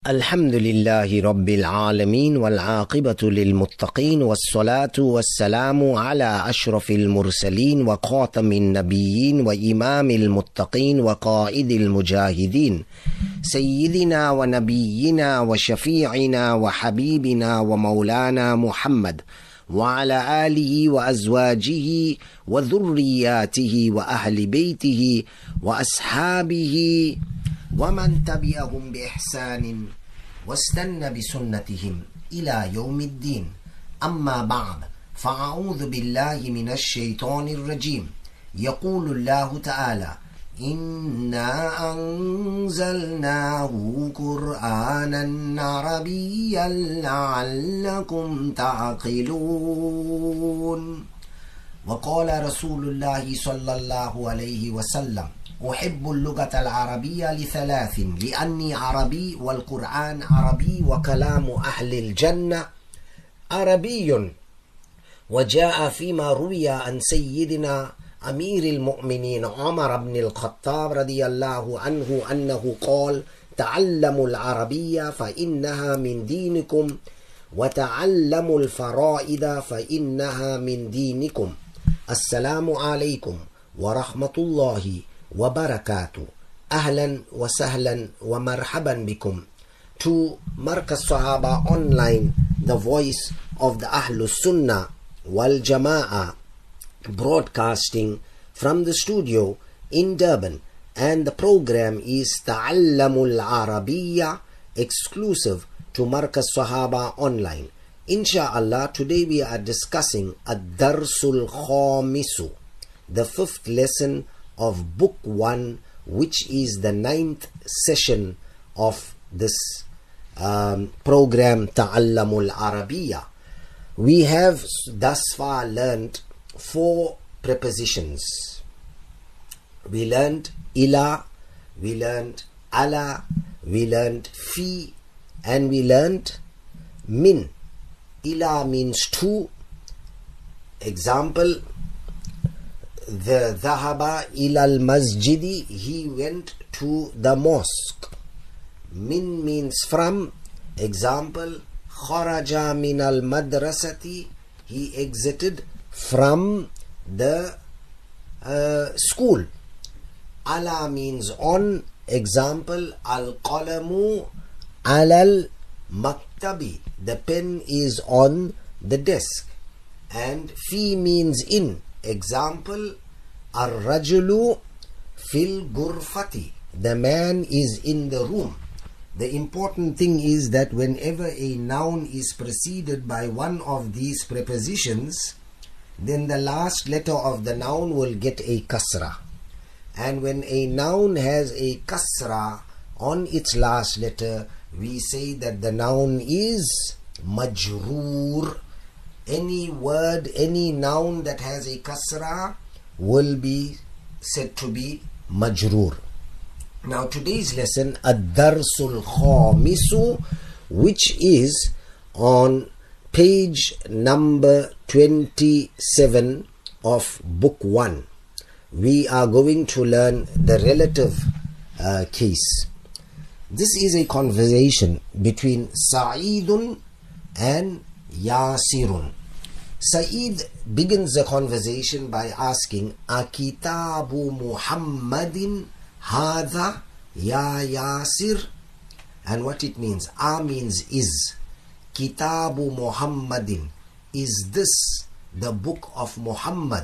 الحمد لله رب العالمين والعاقبة للمتقين والصلاة والسلام على أشرف المرسلين وخاتم النبيين وإمام المتقين وقائد المجاهدين سيدنا ونبينا وشفيعنا وحبيبنا ومولانا محمد وعلى آله وأزواجه وذرياته وأهل بيته وأصحابه ومن تبعهم بإحسان واستنى بسنتهم إلى يوم الدين. أما بعد، فأعوذ بالله من الشيطان الرجيم. يقول الله تعالى: إنا أنزلناه قرآنا عربيا لعلكم تعقلون. وقال رسول الله صلى الله عليه وسلم: أحب اللغة العربية لثلاث: لأني عربي والقرآن عربي وكلام أهل الجنة عربي. وجاء فيما روي عن سيدنا أمير المؤمنين عمر بن الخطاب رضي الله عنه أنه قال: تعلموا العربية فإنها من دينكم وتعلموا الفرائض فإنها من دينكم. السلام عليكم ورحمة الله وبركاته. أهلا وسهلا ومرحبا بكم to Markaz Sahaba Online, the voice of the Ahlus Sunnah wal Jama'ah, broadcasting from the studio in Durban, and the program is Ta'allamul Arabiya, exclusive to Markaz Sahaba Online. Insha'Allah, today we are discussing Ad-Darsul Khamisu, the fifth lesson of Book 1, which is the 9th session of this program Ta'allamul Arabiya. We have thus far learned 4 prepositions. We learned ila, we learned ala, we learned fi, and we learned min. Ila means to. Example: the dhahaba ilal masjidi, he went to the mosque. Min means from. Example: kharaja min al madrasati, he exited from the school. Ala means on. Example: al qalamu alal maktabi, the pen is on the desk. And fi means in. Example: ar-rajulu fil gurfati, the man is in the room. The important thing is that whenever a noun is preceded by one of these prepositions, then the last letter of the noun will get a kasra. And when a noun has a kasra on its last letter, we say that the noun is majroor. Any word, any noun that has a kasra will be said to be majroor. Now today's lesson, Ad-Darsul Khamisu, which is on page number 27 of book 1. We are going to learn the relative case. This is a conversation between Sa'idun and Yasirun. Sa'id begins the conversation by asking, Akitabu Muhammadin Hadha Ya Yasir? And what it means. A means is. Kitabu Muhammadin, is this the book of Muhammad?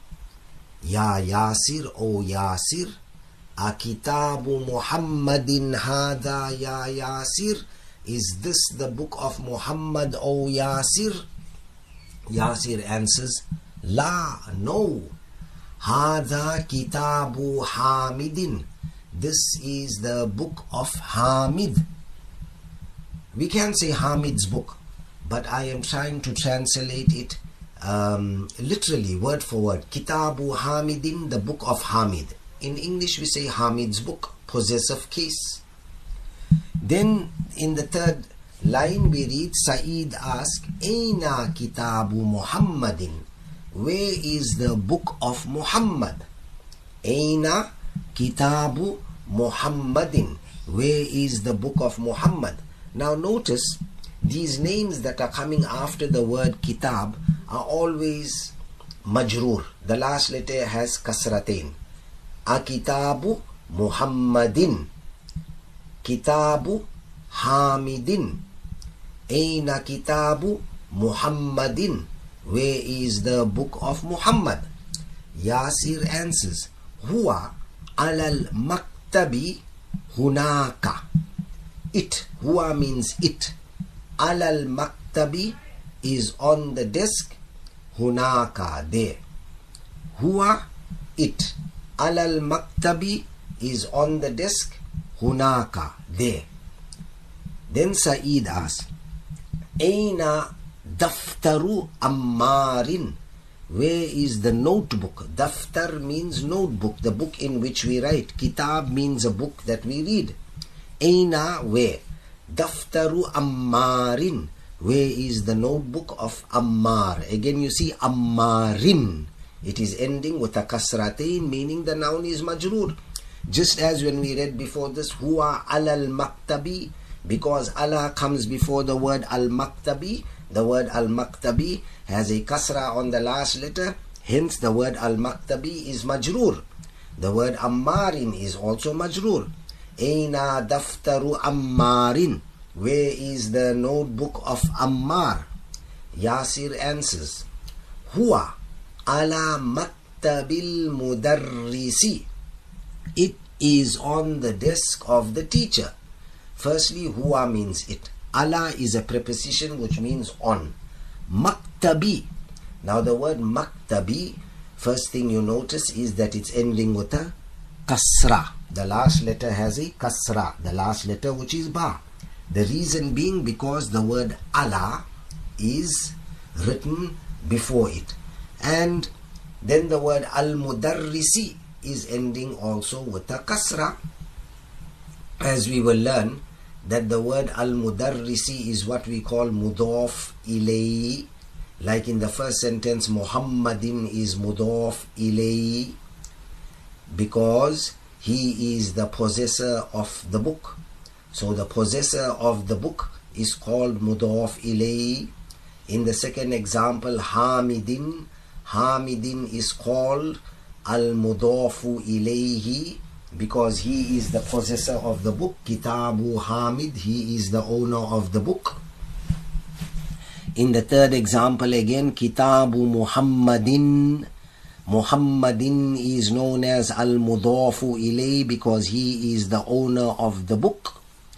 Ya Yasir, O Yasir. Akitabu Muhammadin Hadha Ya Yasir, is this the book of Muhammad, O Yasir? Yasir answers, La, no. Hadha kitabu Hamidin, this is the book of Hamid. We can say Hamid's book, but I am trying to translate it literally, word for word. Kitabu Hamidin, the book of Hamid. In English we say Hamid's book, possessive case. Then in the third line we read, Sa'id asks, Aina kitabu Muhammadin, where is the book of Muhammad? Aina kitabu Muhammadin, where is the book of Muhammad? Now notice, these names that are coming after the word kitab are always majroor. The last letter has kasratain. Akitabu Muhammadin, Kitabu Hamidin, Aina Kitabu Muhammadin, where is the book of Muhammad? Yasir answers, Huwa alal maktabi hunaka. It, Huwa means it. Alal maktabi is on the desk. Hunaka, there. Huwa, it. Alal maktabi is on the desk. Hunaka, there. Then Saeed asks, Aina daftaru Ammarin, where is the notebook? Daftar means notebook, the book in which we write. Kitab means a book that we read. Aina, where? Daftaru Ammarin, where is the notebook of Ammar? Again you see Ammarin. It is ending with a kasratain, meaning the noun is majroor. Just as when we read before this, Huwa alal maktabi, because Allah comes before the word al-maktabi. The word al-maktabi has a kasra on the last letter, hence the word al-maktabi is majroor. The word ammarin is also majroor. Aina daftaru ammarin, where is the notebook of Ammar? Yasir answers, Huwa ala maktabil mudarrisi, it is on the desk of the teacher. Firstly, huwa means it. Ala is a preposition which means on. Maktabi. Now the word maktabi, first thing you notice is that it's ending with a kasra. The last letter has a kasra, the last letter which is ba. The reason being because the word ala is written before it. And then the word al-mudarrisi is ending also with a kasra. As we will learn that the word al-mudarrisi is what we call mudaf ilayhi. Like in the first sentence, Muhammadin is mudaf ilayhi because he is the possessor of the book. So the possessor of the book is called mudaf ilayhi. In the second example, Hamidin, Hamidin is called al-mudafu ilayhi because he is the possessor of the book. Kitabu Hamid, he is the owner of the book. In the third example again, Kitabu Muhammadin, Muhammadin is known as al-mudafu ilayhi because he is the owner of the book.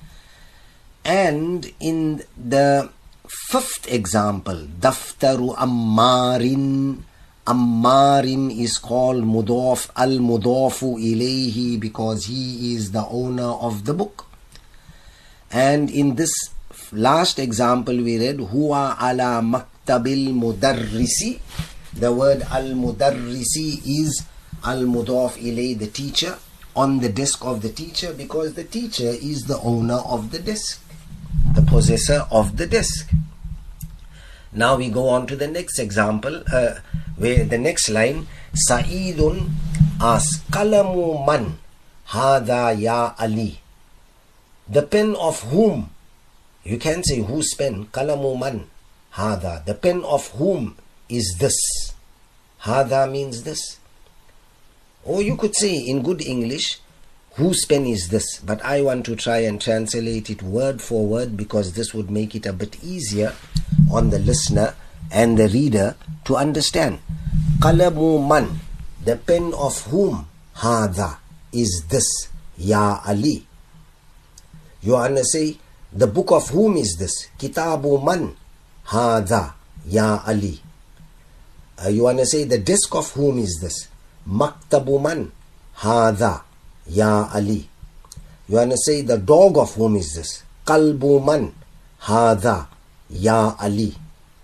And in the fifth example, Daftaru Ammarin, Ammarin is called mudaf, al-mudafu ilayhi because he is the owner of the book. And in this last example we read, Huwa ala maktabil mudarrisi. The word al-mudarrisi is al-mudaf ilayhi, the teacher, on the desk of the teacher, because the teacher is the owner of the desk, the possessor of the desk. Now we go on to the next example, where the next line, Sa'idun asks, Qalamu man hadha ya Ali. The pen of whom? You can say whose pen? Qalamu man hadha. The pen of whom is this? Hadha means this. Or you could say in good English, whose pen is this? But I want to try and translate it word for word because this would make it a bit easier on the listener and the reader to understand. Qalamu man, the pen of whom? Hadha is this, Ya Ali. You want to say, the book of whom is this? Kitabu man hadha Ya Ali. You want to say, the desk of whom is this? Maktabu man hadha Ya Ali. You want to say, the dog of whom is this? Qalbu man hadha Ya Ali.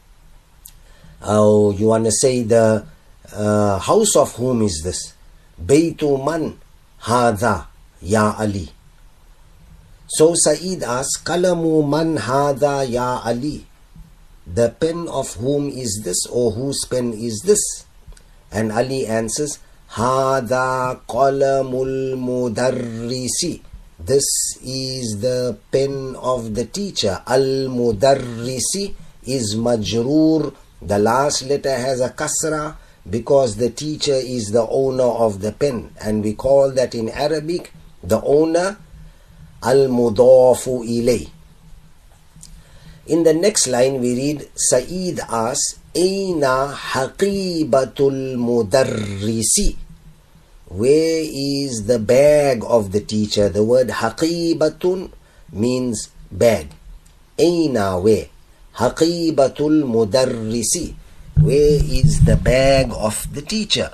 Oh, you want to say, the house of whom is this? Baytu man hadha Ya Ali. So Saeed asks, Qalamu man hadha Ya Ali. The pen of whom is this, or whose pen is this? And Ali answers, Hadha qalamul mudarrisi. This is the pen of the teacher. Al-Mudarrisi is majroor. The last letter has a kasra because the teacher is the owner of the pen. And we call that in Arabic, the owner, Al-Mudafu ilay. In the next line we read, Sa'id asks, Aina haqibatul mudarrisi? Where is the bag of the teacher? The word haqibatun means bag. Aina, where? Haqibatul mudarrisi. Where is the bag of the teacher?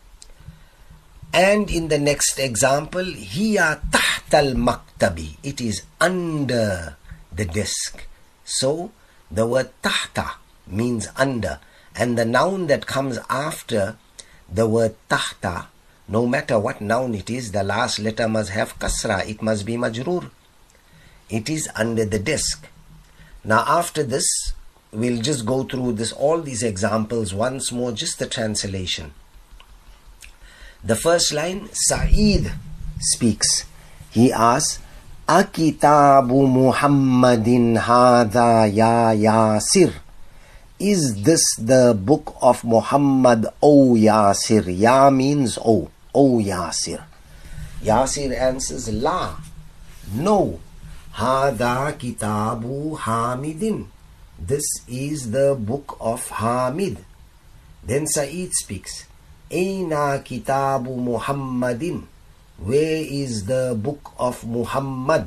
And in the next example, hiya tahtal maktabi. It is under the desk. So the word tahta means under, and the noun that comes after the word tahta, no matter what noun it is, the last letter must have kasra. It must be majroor. It is under the desk. Now after this, we'll just go through all these examples once more, just the translation. The first line, Sa'id speaks. He asks, Akitabu Muhammadin hadha ya Yasir? Is this the book of Muhammad, O Yasir? Ya means O Yasir. Yasir answers, La, no. Hadha kitabu Hamidin. This is the book of Hamid. Then Sa'id speaks, Aina kitabu Muhammadin? Where is the book of Muhammad?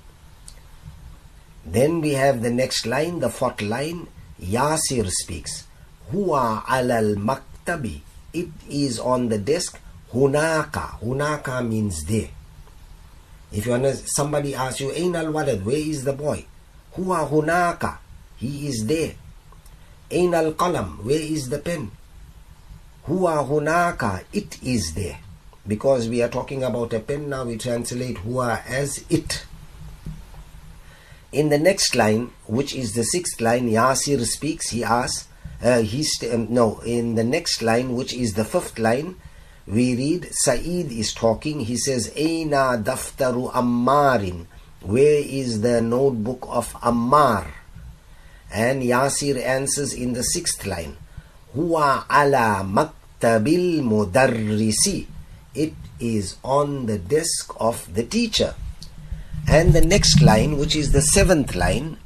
Then we have the next line, the fourth line. Yasir speaks. Huwa alal maktabi. It is on the desk. Hunaka. Hunaka means there. If you want somebody asks you, Ain al walad, where is the boy? Huwa hunaka. He is there. Ain al qalam, where is the pen? Huwa hunaka. It is there. Because we are talking about a pen now, we translate huwa as it. In the next line, which is the sixth line, Yasir speaks. He asks, in the next line, which is the fifth line, we read, Sa'id is talking. He says, Aina daftaru Ammarin? Where is the notebook of Ammar? And Yasir answers in the sixth line, Huwa ala maktabil mudarrisi. It is on the desk of the teacher. And the next line, which is the seventh line,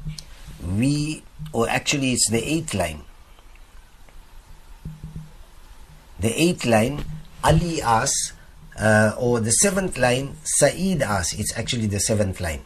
it's the eighth line. The eighth line, Ali asks, or the seventh line, Sa'id asks. It's actually the seventh line.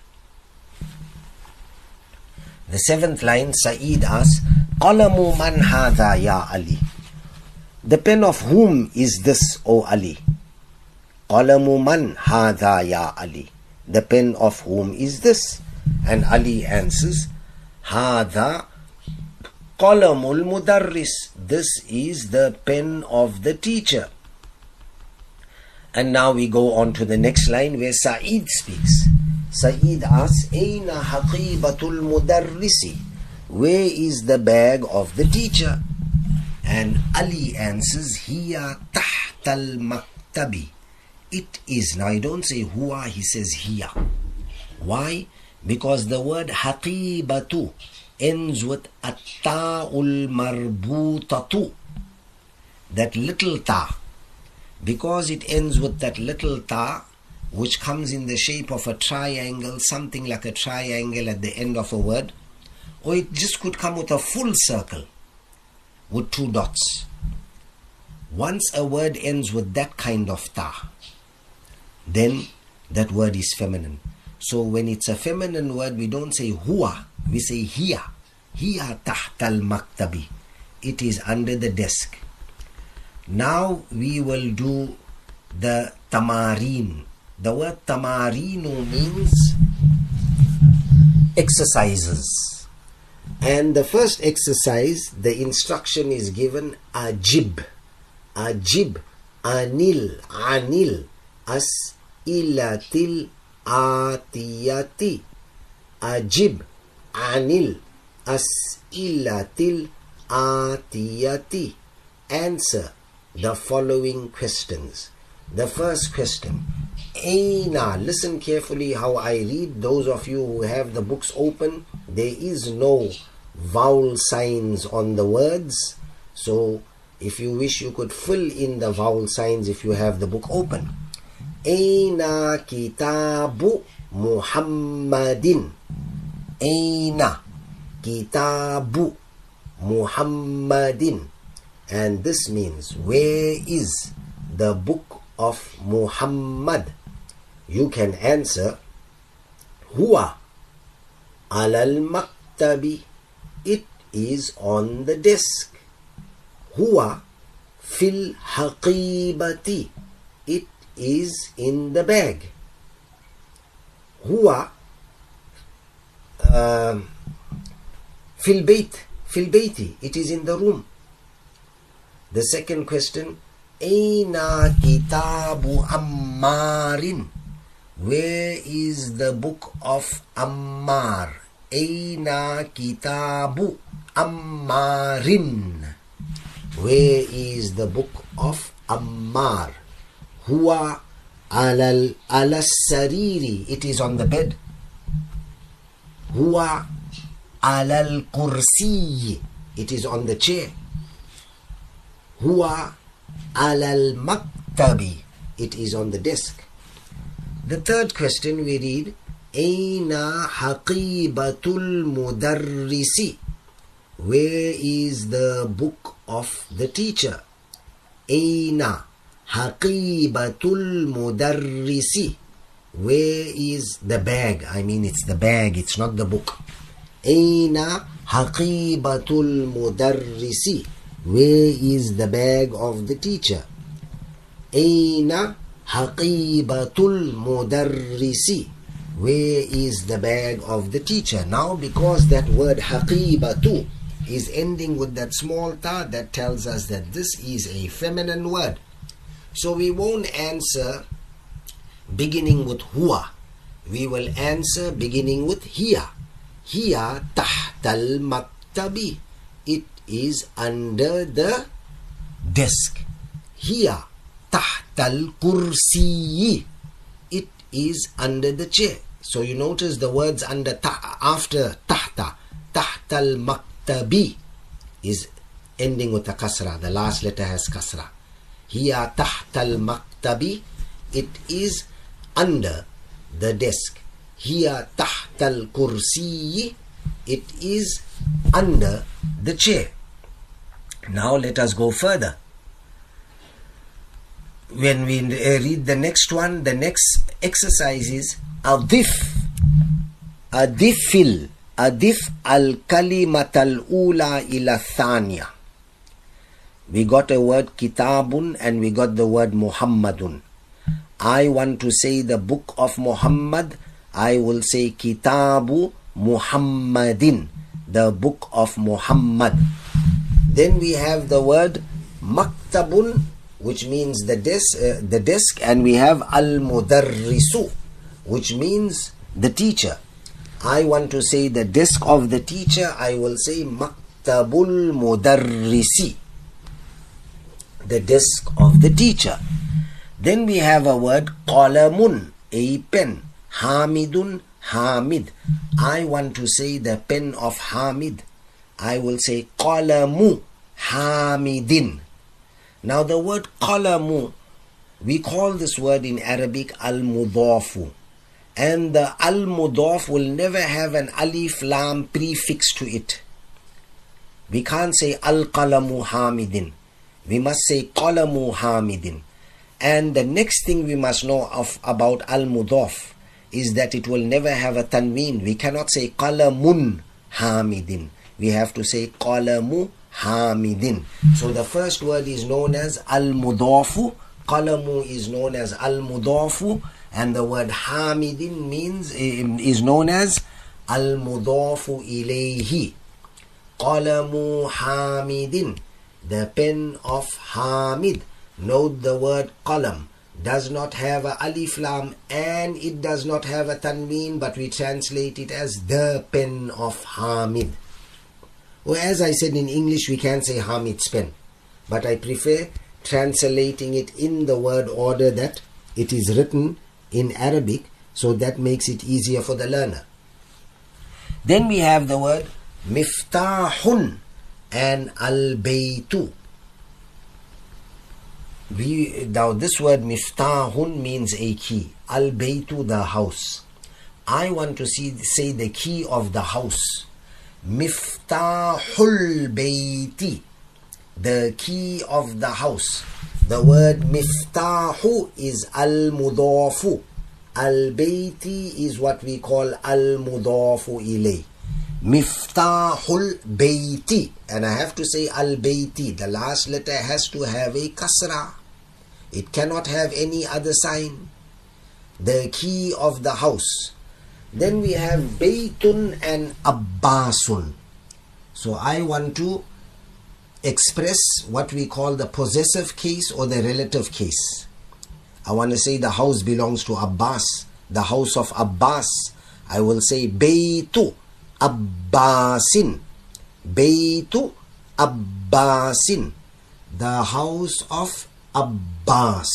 The seventh line, Sa'id asks, Qalamu man hadha ya Ali? The pen of whom is this, O Ali? Qalamu man hadha ya Ali? The pen of whom is this? And Ali answers, Hadha qalamul mudarris. This is the pen of the teacher. And now we go on to the next line where Sa'id speaks. Sa'id asks, Aina haqibatul mudarrisi? Where is the bag of the teacher? And Ali answers, Hiya tahtal maktabi. It is. Now, I don't say huwa, he says hiya. Why? Because the word haqibatu ends with at-ta'ul marbutatu. That little ta. Because it ends with that little ta, which comes in the shape of a triangle, something like a triangle at the end of a word, or it just could come with a full circle with two dots. Once a word ends with that kind of ta, then that word is feminine. So when it's a feminine word, we don't say huwa, we say hiya. Hiya tahtal maktabi. It is under the desk. Now we will do the tamarin. The word tamarinu means exercises. And the first exercise, the instruction is given, ajib. Ajib, anil, as'ilatil atiyati. Ajib, anil, as'ilatil atiyati. Answer the following questions. The first question, Aina. Listen carefully how I read. Those of you who have the books open, there is no vowel signs on the words. So if you wish, you could fill in the vowel signs if you have the book open. Aina kitabu Muhammadin. Aina kitabu Muhammadin. And this means, where is the book of Muhammad? You can answer, Huwa alal maktabi. It is on the desk. Huwa fil haqibati. It is in the bag. Huwa fil bayti. It is in the room. The second question, Aina kitabu Ammarin. Where is the book of Ammar? Aina kitabu Ammarin. Where is the book of Ammar? Huwa ala sariri. It is on the bed. Huwa alal kursi. It is on the chair. Huwa alal maktabi. It is on the desk. The third question we read, Aina haqibatul mudarrisi. Where is the book of the teacher? Aina haqibatul mudarrisi. Where is the bag? I mean, it's the bag, it's not the book. Aina haqibatul mudarrisi. Where is the bag of the teacher? Aina haqibatul mudarrisi. Where is the bag of the teacher? Now, because that word haqibatu is ending with that small ta, that tells us that this is a feminine word. So we won't answer beginning with huwa. We will answer beginning with hiya. Hiya tahtal maktabi. It is under the desk. Hiya tahtal kursi. It is under the chair. So you notice the words under after tahta. Tahtal maktabi is ending with a kasra. The last letter has kasra. Hiya tahtal maktabi. It is under the desk. Hiya tahtal kursi. It is under the chair. Now let us go further. When we read the next one, the next exercise is adif al-kalimat al-ula ila thaniya. We got a word kitabun and we got the word Muhammadun. I want to say the book of Muhammad. I will say kitabu Muhammadin, the book of Muhammad. Then we have the word maktabun, which means the desk, and we have al-mudarrisu, which means the teacher. I want to say the desk of the teacher. I will say maktabul mudarrisi, the desk of the teacher. Then we have a word qalamun, a pen. Hamidun, Hamid. I want to say the pen of Hamid. I will say qalamu Hamidin. Now the word qalamu, we call this word in Arabic al-mudafu. And the al-mudaf will never have an alif lam prefix to it. We can't say al-qalamu Hamidin. We must say qalamu Hamidin. And the next thing we must know about al-mudaf is that it will never have a tanween. We cannot say qalamun Hamidin. We have to say qalamu Hamidin. So the first word is known as al-mudafu. Qalamu is known as al-mudafu. And the word Hamidin is known as al-mudafu ilayhi. Qalamu Hamidin, the pen of Hamid. Note the word qalam does not have a alif lam and it does not have a tanween, but we translate it as the pen of Hamid. Or as I said, in English we can say Hamid's pen, but I prefer translating it in the word order that it is written in Arabic, so that makes it easier for the learner. Then we have the word miftahun and al-baytu. Now this word miftahun means a key. Al-baytu, the house. I want to say the key of the house. Miftahul bayti, the key of the house. The word miftahu is al-mudafu. Al-bayti is what we call al-mudafu ilay. Miftahul bayti, and I have to say al-bayti. The last letter has to have a kasra. It cannot have any other sign. The key of the house. Then we have baytun and abbasun. So I want to express what we call the possessive case or the relative case. I want to say the house belongs to Abbas, the house of Abbas. I will say baytu Abbasin, baytu Abbasin, the house of Abbas.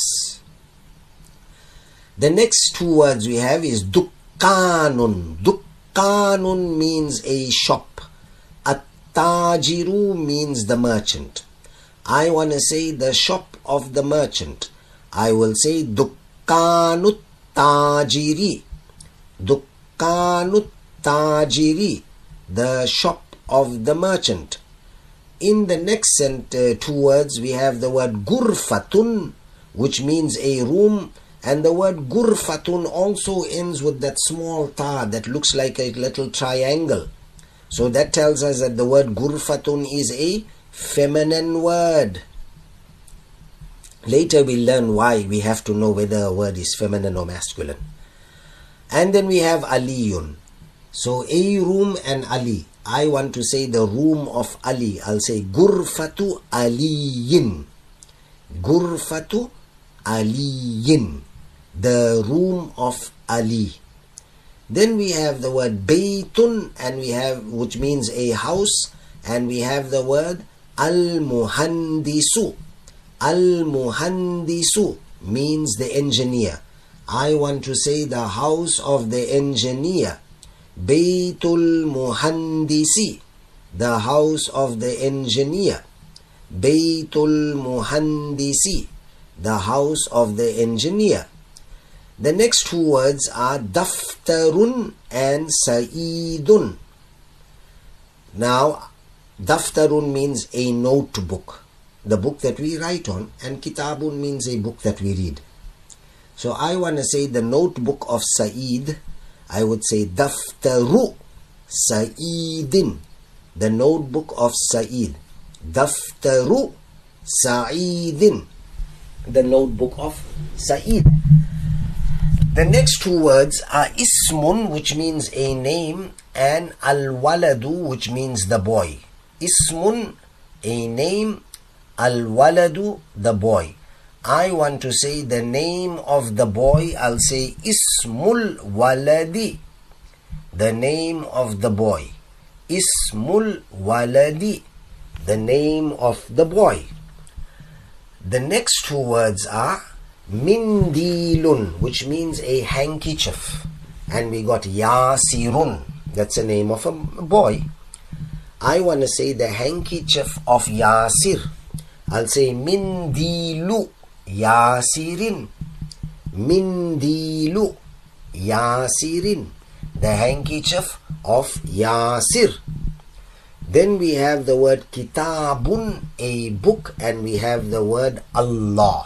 The next two words we have is dukkanun. Dukkanun means a shop. At-tajiru means the merchant. I want to say the shop of the merchant. I will say dukkanut tajiri. Dukkanut tajiri, the shop of the merchant. In the next two words we have the word gurfatun, which means a room, and the word gurfatun also ends with that small ta that looks like a little triangle. So that tells us that the word gurfatun is a feminine word. Later we'll learn why we have to know whether a word is feminine or masculine. And then we have aliyun. So a room and Ali. I want to say the room of Ali. I'll say gurfatu aliyin. Gurfatu aliyin, the room of Ali. Then we have the word baytun, and we have, which means a house, and we have the word al-muhandisu. Al-muhandisu means the engineer. I want to say the house of the engineer. Baytul muhandisi, the house of the engineer. Baytul muhandisi, the house of the engineer. The next two words are daftarun and sa'idun. Now, daftarun means a notebook, the book that we write on, and kitabun means a book that we read. So I want to say the notebook of Sa'id. I would say daftaru Sa'idin, the notebook of Sa'id. Daftaru Sa'idin, the notebook of Sa'id. The next two words are ismun, which means a name, and al-waladu, which means the boy. Ismun, a name, al-waladu, the boy. I want to say the name of the boy. I'll say Ismul Waladi, the name of the boy. Ismul Waladi, the name of the boy. The next two words are Mindilun, which means a handkerchief. And we got Yasirun, that's the name of a boy. I want to say the handkerchief of Yasir. I'll say Mindilu Yasirin. Mindilu Yasirin, the handkerchief of Yasir. Then we have the word kitabun, a book, and we have the word Allah.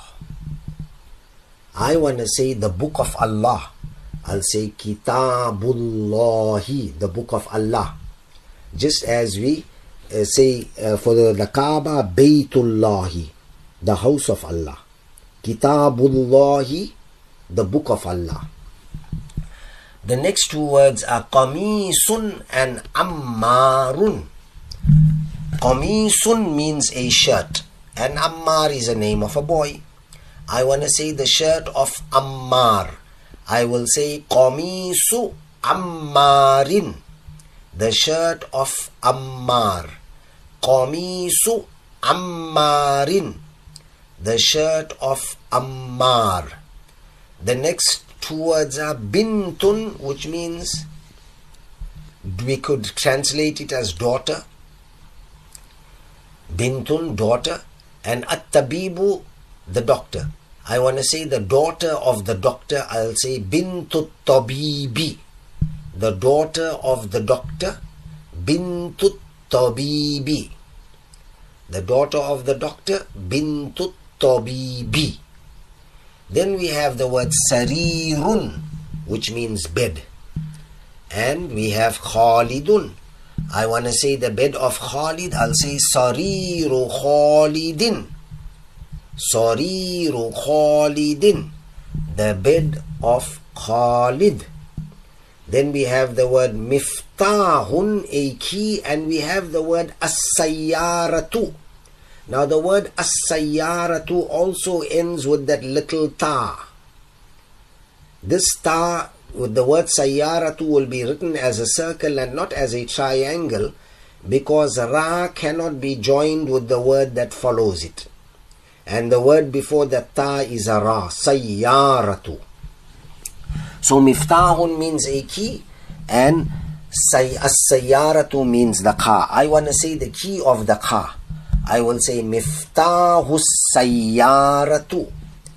I want to say the book of Allah. I'll say Kitabullahi, the book of Allah. Just as we say for the Kaaba, Baytullahi, the house of Allah. Kitabullahi, the book of Allah. The next two words are Qamisun and Ammarun. Qamisun means a shirt, and Ammar is a name of a boy. I want to say the shirt of Ammar. I will say Qamisu Ammarin, the shirt of Ammar. Qamisu Ammarin, the shirt of Ammar. The next two words are bintun, which means we could translate it as daughter. Bintun, daughter, and at-tabibu, the doctor. I want to say the daughter of the doctor, I'll say bintut tabibi. The daughter of the doctor, bintut tabibi. The daughter of the doctor, bintut tabibi. Then we have the word sarirun, which means bed. And we have Khalidun. I want to say the bed of Khalid, I'll say Sariru Khalidin. Sariru Khalidin. The bed of Khalid. Then we have the word Miftahun, a key, and we have the word As-Sayyaratu. Now the word As-Sayyaratu also ends with that little ta. This ta with the word Sayyaratu will be written as a circle and not as a triangle, because Ra cannot be joined with the word that follows it. And the word before the ta is a Ra, Sayyaratu. So Miftahun means a key and As-Sayyaratu means the car. I want to say the key of the car. I will say Miftahus Sayyaratu.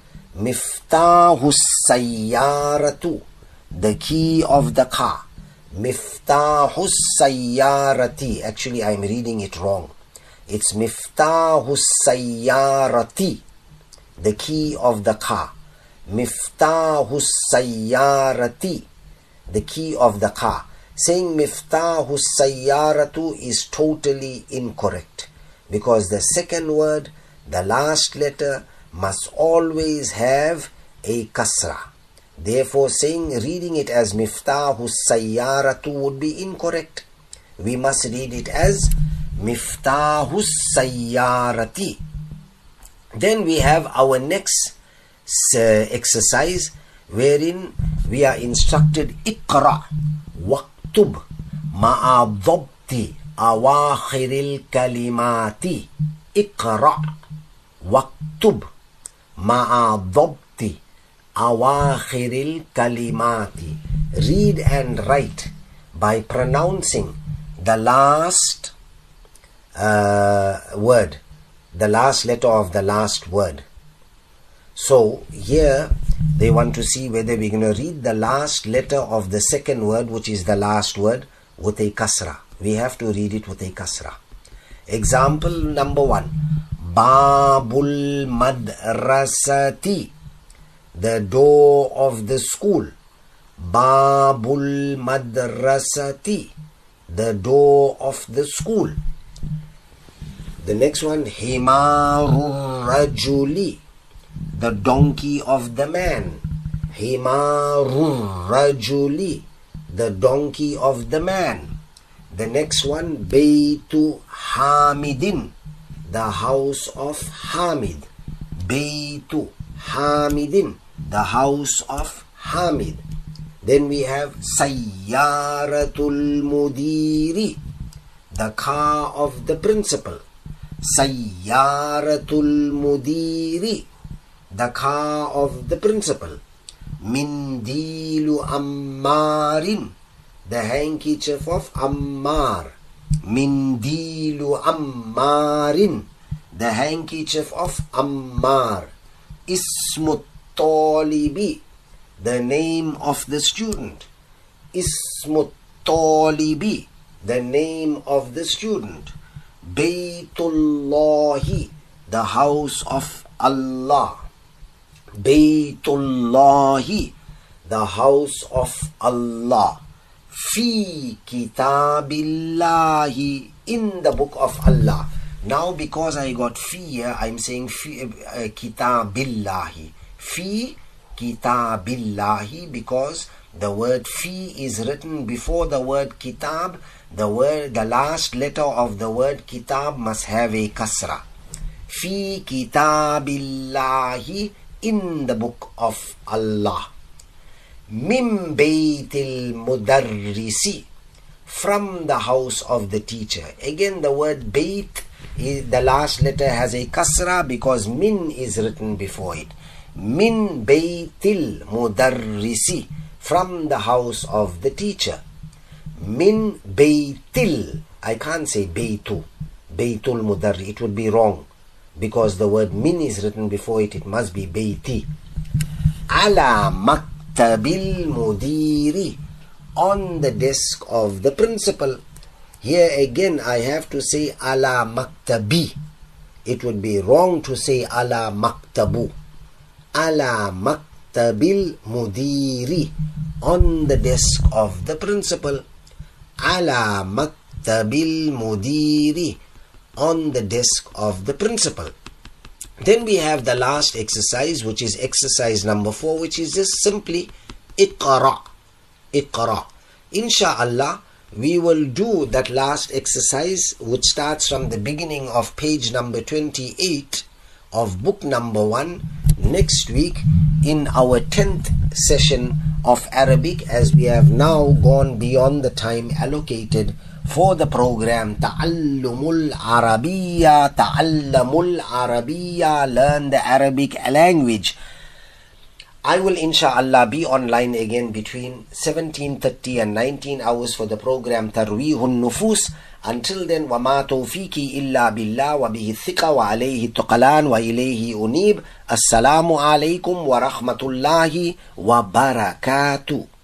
Miftahus Sayyaratu. The key of the car. Miftahus Sayyarati. Actually, I'm reading it wrong. It's Miftahus Sayyarati. The key of the car. Miftahus Sayyarati. The key of the car. Saying Miftahus Sayyaratu is totally incorrect, because the second word, the last letter, must always have a kasra. Therefore, reading it as Miftahus Sayyaratu would be incorrect. We must read it as Miftahus Sayyarati. Then we have our next exercise, wherein we are instructed Iqra waktub ma'a dhabti awakhiril kalimati. Iqra waktub ma'a dhabti awakhiril kalimati. Read and write by pronouncing the last word, the last letter of the last word. So here they want to see whether we're going to read the last letter of the second word, which is the last word, with a kasra. We have to read it with a kasra. Example number 1. Babul madrasati. The door of the school. Babul madrasati. The door of the school. The next one. Himarur rajuli. The donkey of the man. Himarur rajuli. The donkey of the man. The next one, Baytu Hamidin. The house of Hamid. Baytu Hamidin. The house of Hamid. Then we have Sayyaratul Mudiri. The car of the principal. Sayyaratul Mudiri. The car of the principal. Mindilu Ammarin. The handkerchief of Ammar. Mindilu Ammarin. The handkerchief of Ammar. Ismut Talibi. The name of the student. Ismut Talibi. The name of the student. Baytullahi. The house of Allah. Baytullahi. The house of Allah. Fi kitabillahi. In the book of Allah. Now because I got fi here, I'm saying fi kitabillahi. Fi kitabillahi, because the word fi is written before the word kitab. The last letter of the word kitab must have a kasra. Fi kitabillahi. In the book of Allah. Min baytil mudarrisi. From the house of the teacher. Again, the word bayt, the last letter has a kasra because min is written before it. Min baytil mudarrisi, from the house of the teacher. Min baytil, I can't say baytu, baytul mudarri, it would be wrong, because the word min is written before it, it must be bayti. Ala maktabil mudiri, on the desk of the principal. Here again I have to say ala maktabi. It would be wrong to say ala maktabu. Ala maktabil mudiri, on the desk of the principal. Ala maktabil mudiri, on the desk of the principal. Then we have the last exercise, which is exercise number 4, which is just simply iqra. Iqra. Insha'Allah, we will do that last exercise, which starts from the beginning of page number 28 of book number 1 next week in our 10th session of Arabic, as we have now gone beyond the time allocated for the program Ta'allumul Arabiya, Ta'allamul Arabiya, learn the Arabic language. I will insha'Allah be online again between 17:30 and 19 hours for the program Tarweehun Nufus. Until then, وَمَا تَوْفِيقِي إِلَّا بِاللَّهِ وَبِهِ الثِّقَةُ وَعَلَيْهِ التُّكْلَانُ وَإِلَيْهِ أُنِيبُ. السلام عليكم ورحمة الله وبركاته.